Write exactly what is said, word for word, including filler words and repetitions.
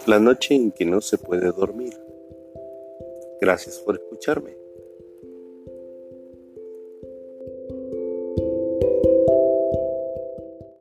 La noche en que no se puede dormir. Gracias por escucharme.